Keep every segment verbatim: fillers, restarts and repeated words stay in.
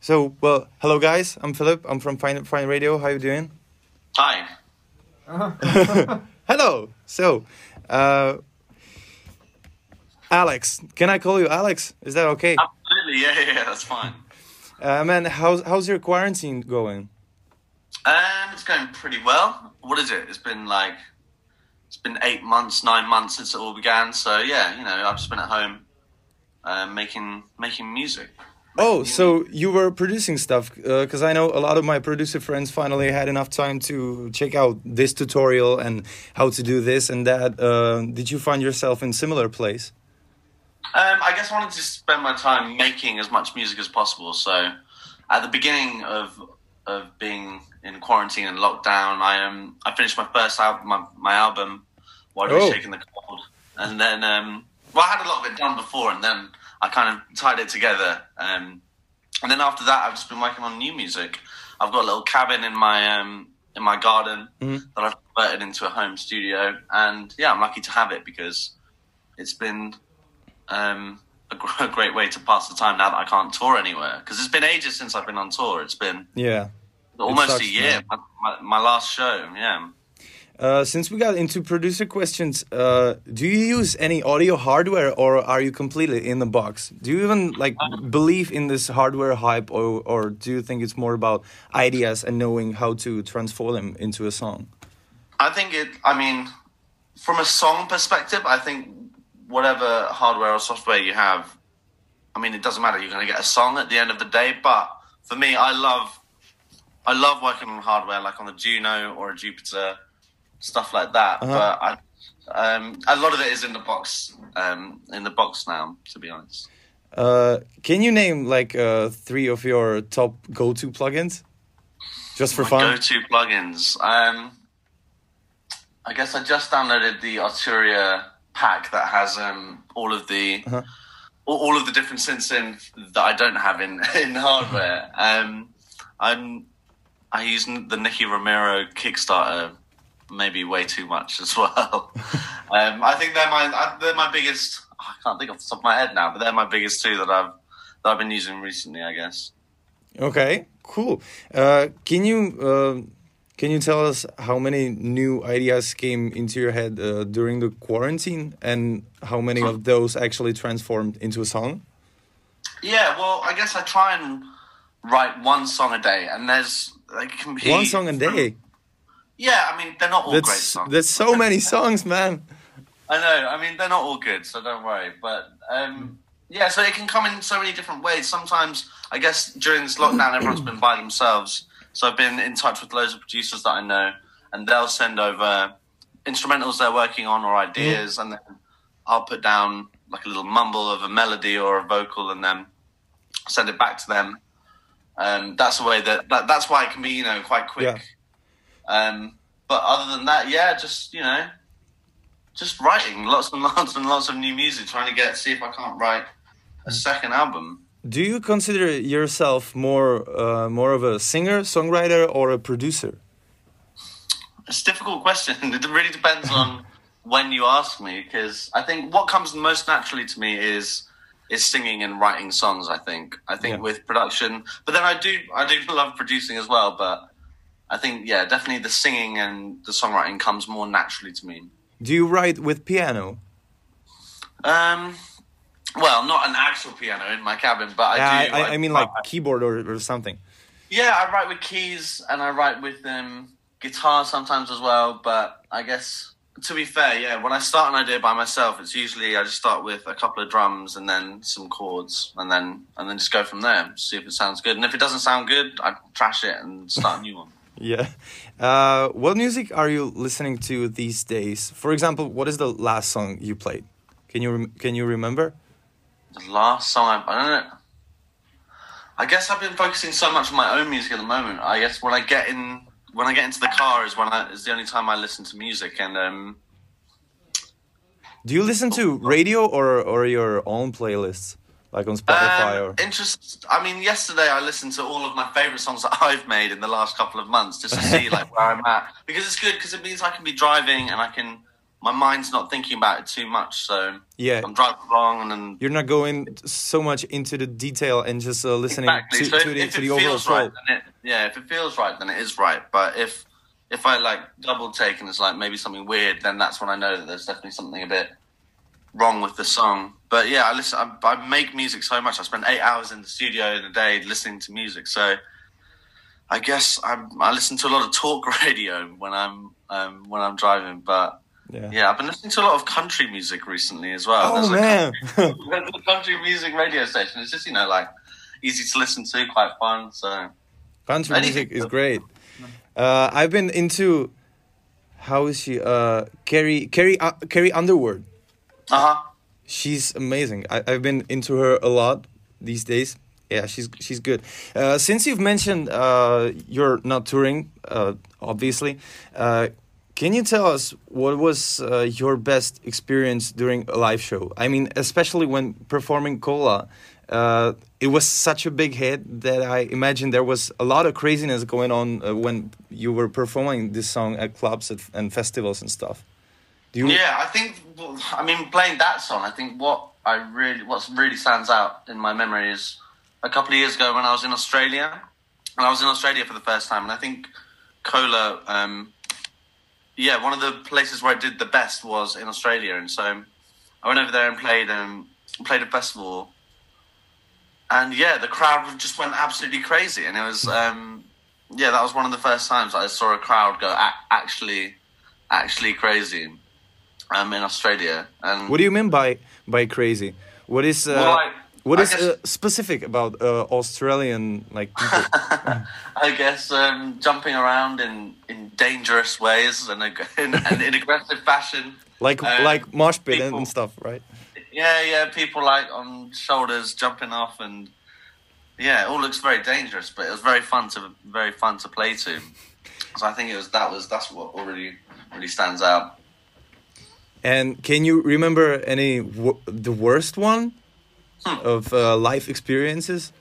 So, well, hello guys. I'm Philip. I'm from Fine Fine Radio. How you doing? Hi. Hello. So, uh, Alex, can I call you Alex? Is that okay? Absolutely, yeah, yeah, yeah, that's fine. Uh, man, how's how's your quarantine going? Um, it's going pretty well. What is it? It's been like, it's been eight months, nine months since it all began. So yeah, you know, I've just been at home, uh, making making music. Oh, so you were producing stuff, because I know a lot of my producer friends finally had enough time to check out this tutorial and how to do this and that. Uh, did you find yourself in similar place? Um, I guess I wanted to spend my time making as much music as possible. So, at the beginning of of being in quarantine and lockdown, I um I finished my first album, my, my album, Why Do We Oh. Shake in the Cold, and then um well, I had a lot of it done before, and then I kind of tied it together. Um, and then after that, I've just been working on new music. I've got a little cabin in my um in my garden Mhm. that I've converted into a home studio, and yeah, I'm lucky to have it because it's been um, a, gr- a great way to pass the time now that I can't tour anywhere. Because it's been ages since I've been on tour. It's been Yeah. almost sucks, a year. man. My, my, my last show, yeah. Uh, since we got into producer questions, uh, do you use any audio hardware or are you completely in the box? Do you even like believe in this hardware hype, or or do you think it's more about ideas and knowing how to transform them into a song? I think it. I mean, from a song perspective, I think whatever hardware or software you have, I mean, it doesn't matter. You're going to get a song at the end of the day. But for me, I love, I love working on hardware like on the Juno or a Jupiter, stuff like that. Uh-huh. But I, um, a lot of it is in the box, um, in the box now. To be honest, Uh, can you name like uh, three of your top go-to plugins, just for my fun? go-to plugins. Um, I guess I just downloaded the Arturia pack that has um, all of the. Uh-huh. all, all of the different synths in that I don't have in in hardware. Um, I'm I use the Nicky Romero Kickstarter maybe way too much as well. um, I think they're my they're my biggest. I can't think off the top of my head now, but they're my biggest two that I've that I've been using recently, I guess. Okay, cool. Uh, can you uh, can you tell us how many new ideas came into your head uh, during the quarantine, and how many of those actually transformed into a song? Yeah, well, I guess I try and write one song a day, and there's like can be One song a day. Yeah, I mean they're not all great That's songs. that's so many songs, man. I know. I mean, they're not all good, so don't worry. But um, yeah, so it can come in so many different ways. Sometimes, I guess, during this lockdown, everyone's been by themselves. So I've been in touch with loads of producers that I know, and they'll send over instrumentals they're working on or ideas, and then I'll put down like a little mumble of a melody or a vocal, and then send it back to them. Um, that's the way that, that that's why it can be, you know, quite quick. Yeah. Um, but other than that, yeah, just you know. Just writing lots and lots and lots of new music, trying to get see if I can't write a second album. Do you consider yourself more uh, more of a singer, songwriter, or a producer? It's a difficult question. It really depends on when you ask me, because I think what comes most naturally to me is is singing and writing songs. I think I think Yeah. with production, but then I do I do love producing as well. But I think yeah, definitely the singing and the songwriting comes more naturally to me. Do you write with piano? Um, well, not an actual piano in my cabin, but I Yeah, do. I, I, I mean like keyboard or, or something. Yeah, I write with keys and I write with um, guitar sometimes as well. But I guess, to be fair, yeah, when I start an idea by myself, it's usually I just start with a couple of drums and then some chords, and then and then just go from there, see if it sounds good. And if it doesn't sound good, I trash it and start a new one. Yeah. Uh, what music are you listening to these days? For example, what is the last song you played? Can you rem- can you remember? The last song I, I don't know. I guess I've been focusing so much on my own music at the moment. I guess when I get in when I get into the car is when I is the only time I listen to music. And um, Do you listen to radio or or your own playlists, like on Spotify um, or? interest. I mean, yesterday I listened to all of my favorite songs that I've made in the last couple of months just to see like where I'm at, because it's good because it means I can be driving and I can my mind's not thinking about it too much. So Yeah. I'm driving along, and then You're not going so much into the detail and just uh, listening exactly. to, So to if, the if to it the overall feels flow. right, then it, yeah, if it feels right, then it is right. But if if I like double take and it's like maybe something weird, then that's when I know that there's definitely something a bit wrong with the song. But yeah, I listen. I, I make music so much. I spend eight hours in the studio in a day listening to music. So I guess I I listen to a lot of talk radio when I'm um, when I'm driving. But Yeah. yeah, I've been listening to a lot of country music recently as well. Oh There's a man. country, there's a country music radio station. It's just, you know, like easy to listen to, quite fun. So Country Anything. music is great. Uh, I've been into how is she? Uh, Carrie Carrie uh, Carrie Underwood. uh huh. She's amazing. I, I've been into her a lot these days. Yeah, she's she's good. Uh, since you've mentioned uh, you're not touring, uh, obviously, uh, can you tell us what was uh, your best experience during a live show? I mean, especially when performing Cola. Uh, it was such a big hit that I imagine there was a lot of craziness going on uh, when you were performing this song at clubs at, and festivals and stuff. Do you? Yeah, I think. I mean, playing that song, I think what I really, what really stands out in my memory is a couple of years ago when I was in Australia, and I was in Australia for the first time, and I think Cola. Um, yeah, one of the places where I did the best was in Australia, and so I went over there and played um, played a festival. And yeah, the crowd just went absolutely crazy, and it was um, yeah, that was one of the first times I saw a crowd go a- actually, actually crazy, um, in Australia. And What do you mean by by crazy? What is uh, Well, like, what I is guess- uh, specific about uh, Australian like people? I guess um, jumping around in, in dangerous ways and ag- in, and in aggressive fashion. like Um, like mosh pit and, people- and stuff, right? Yeah, yeah, people like on shoulders jumping off, and yeah, it all looks very dangerous, but it was very fun to very fun to play to. So I think it was that was that's what really really stands out. And can you remember any w- the worst one Hmm. of uh, life experiences?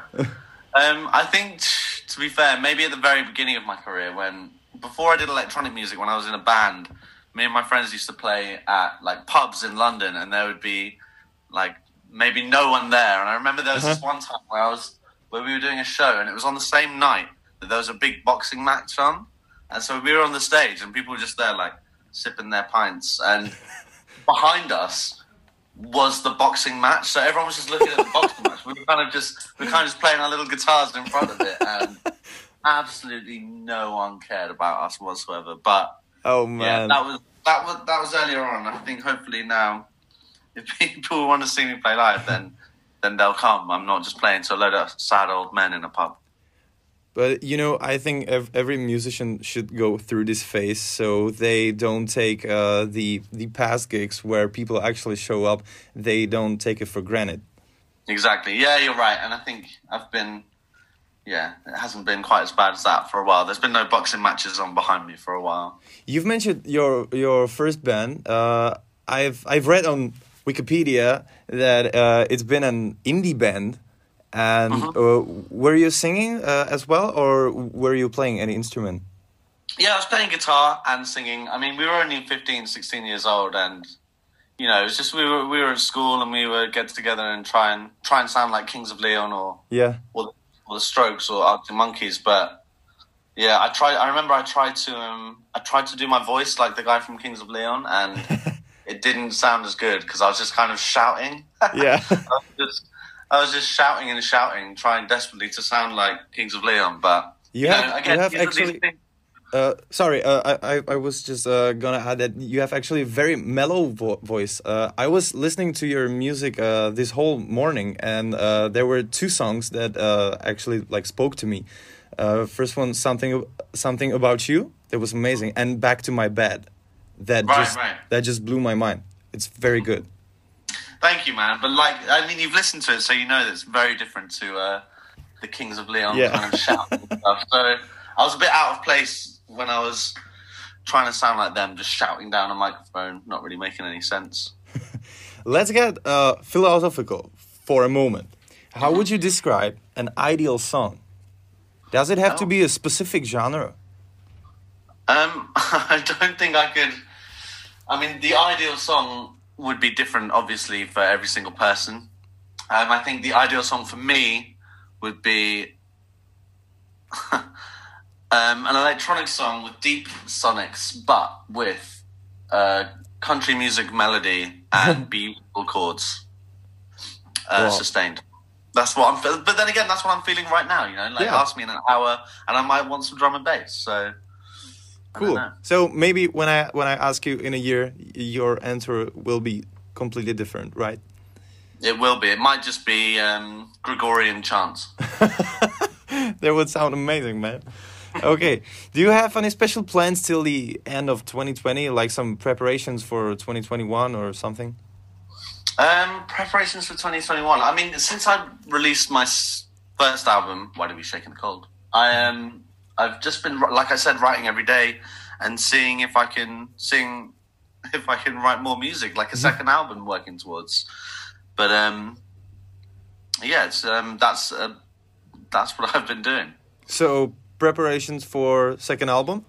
Um, I think, to be fair, maybe at the very beginning of my career, when before I did electronic music, when I was in a band, me and my friends used to play at like pubs in London, and there would be like maybe no one there. And I remember there was this one time where I was where we were doing a show, and it was on the same night that there was a big boxing match on, and so we were on the stage, and people were just there like sipping their pints, and behind us was the boxing match, so everyone was just looking at the boxing match. We were kind of just we were kind of just playing our little guitars in front of it, and absolutely no one cared about us whatsoever. But Oh yeah, man, that was that was that was earlier on. I think hopefully now, if people want to see me play live, then then they'll come. I'm not just playing to a load of sad old men in a pub. but you know, I think ev- every musician should go through this phase so they don't take uh, the the past gigs where people actually show up. They don't take it for granted. Exactly. Yeah, you're right. And I think I've been, yeah, it hasn't been quite as bad as that for a while. There's been no boxing matches on behind me for a while. You've mentioned your your first band. Uh, I've I've read on Wikipedia that uh, it's been an indie band, and uh, were you singing uh, as well, or were you playing any instrument? Yeah, I was playing guitar and singing. I mean, we were only fifteen, sixteen years old, and you know, it's just we were we were at school and we would get together and try and try and sound like Kings of Leon or Yeah. or, or the Strokes or Arctic Monkeys. But yeah, I tried. I remember I tried to um I tried to do my voice like the guy from Kings of Leon, and it didn't sound as good because I was just kind of shouting. Yeah. I was just I was just shouting and shouting, trying desperately to sound like Kings of Leon. But You know, have again, you have these are these actually. things- Uh, sorry, uh, I, I I was just uh, gonna add that you have actually a very mellow vo- voice. Uh, I was listening to your music uh, this whole morning, and uh, there were two songs that uh, actually like spoke to me. Uh, first one, something something about you, that was amazing, and Back to My Bed, that Right, just right. that just blew my mind. It's very good. Thank you, man. But like, I mean, you've listened to it, so you know that it's very different to uh, the Kings of Leon Yeah. kind of shouting and stuff. So I was a bit out of place when I was trying to sound like them, just shouting down a microphone, not really making any sense. Let's get uh, philosophical for a moment. How would you describe an ideal song? Does it have to Oh. be a specific genre? Um, I don't think I could. I mean, the ideal song would be different, obviously, for every single person. Um, I think the ideal song for me would be um, an electronic song with deep sonics, but with uh, country music melody and beautiful chords uh, Wow. sustained. That's what I'm feeling. But then again, that's what I'm feeling right now, you know? Like, Yeah. ask me in an hour, and I might want some drum and bass, so... I don't Cool. know. So maybe when I when I ask you in a year, your answer will be completely different, right? It will be. It might just be um, Gregorian chants. That would sound amazing, man. Okay. Do you have any special plans till the end of twenty twenty, like some preparations for twenty twenty-one or something? Um, preparations for twenty twenty-one. I mean, since I released my s- first album, Why Do We Shake in the Cold? I um, I've just been, like I said, writing every day and seeing if I can sing, if I can write more music, like a second album working towards. But um, yeah, it's um, that's uh, that's what I've been doing. So preparations for second album?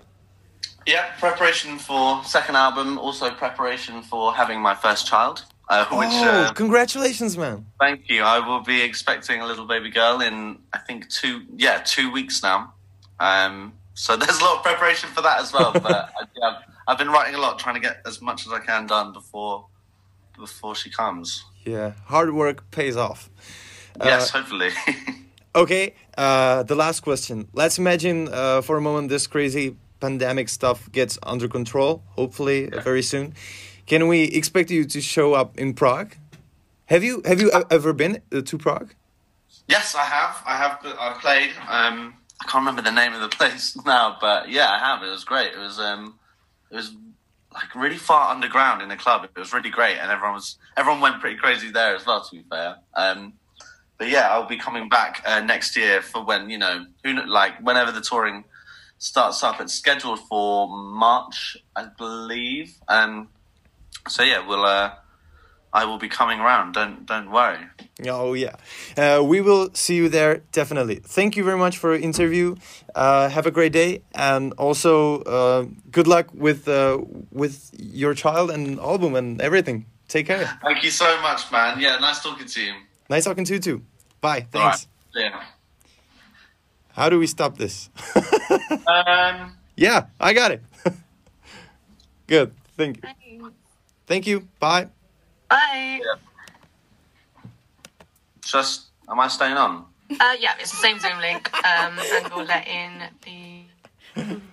Yeah, preparation for second album, also preparation for having my first child. Uh, which, Oh, uh, congratulations, man. thank you. I will be expecting a little baby girl in, I think, two, yeah, two weeks now. Um, so there's a lot of preparation for that as well. But I, yeah, I've been writing a lot, trying to get as much as I can done before before she comes. Yeah, hard work pays off. Yes, Uh, hopefully. Okay, uh, the last question. Let's imagine uh, for a moment this crazy pandemic stuff gets under control, hopefully uh, very soon. Can we expect you to show up in Prague? Have you have you e- ever been uh, to Prague? Yes, I have. I have. I've played. Um, I can't remember the name of the place now, but yeah, I have. It was great. It was. Um, it was like really far underground in a club. It was really great, and everyone was. Everyone went pretty crazy there as well. To be fair. Um, but yeah, I'll be coming back uh, next year for when you know who kn- like whenever the touring starts up. It's scheduled for March, I believe. Um, so yeah, we'll. Uh, I will be coming around. Don't don't worry. Oh yeah, uh, we will see you there definitely. Thank you very much for your interview. Uh, have a great day, and also uh, good luck with uh, with your child and album and everything. Take care. Thank you so much, man. Yeah, nice talking to you. Nice talking to you too. Bye. All right. Thanks. Yeah. How do we stop this? Um. Yeah, I got it. Good. Thank you. Thank you. Bye. Bye. Yeah. Just, am I staying on? Uh, yeah, it's the same Zoom link, um, and we'll let in the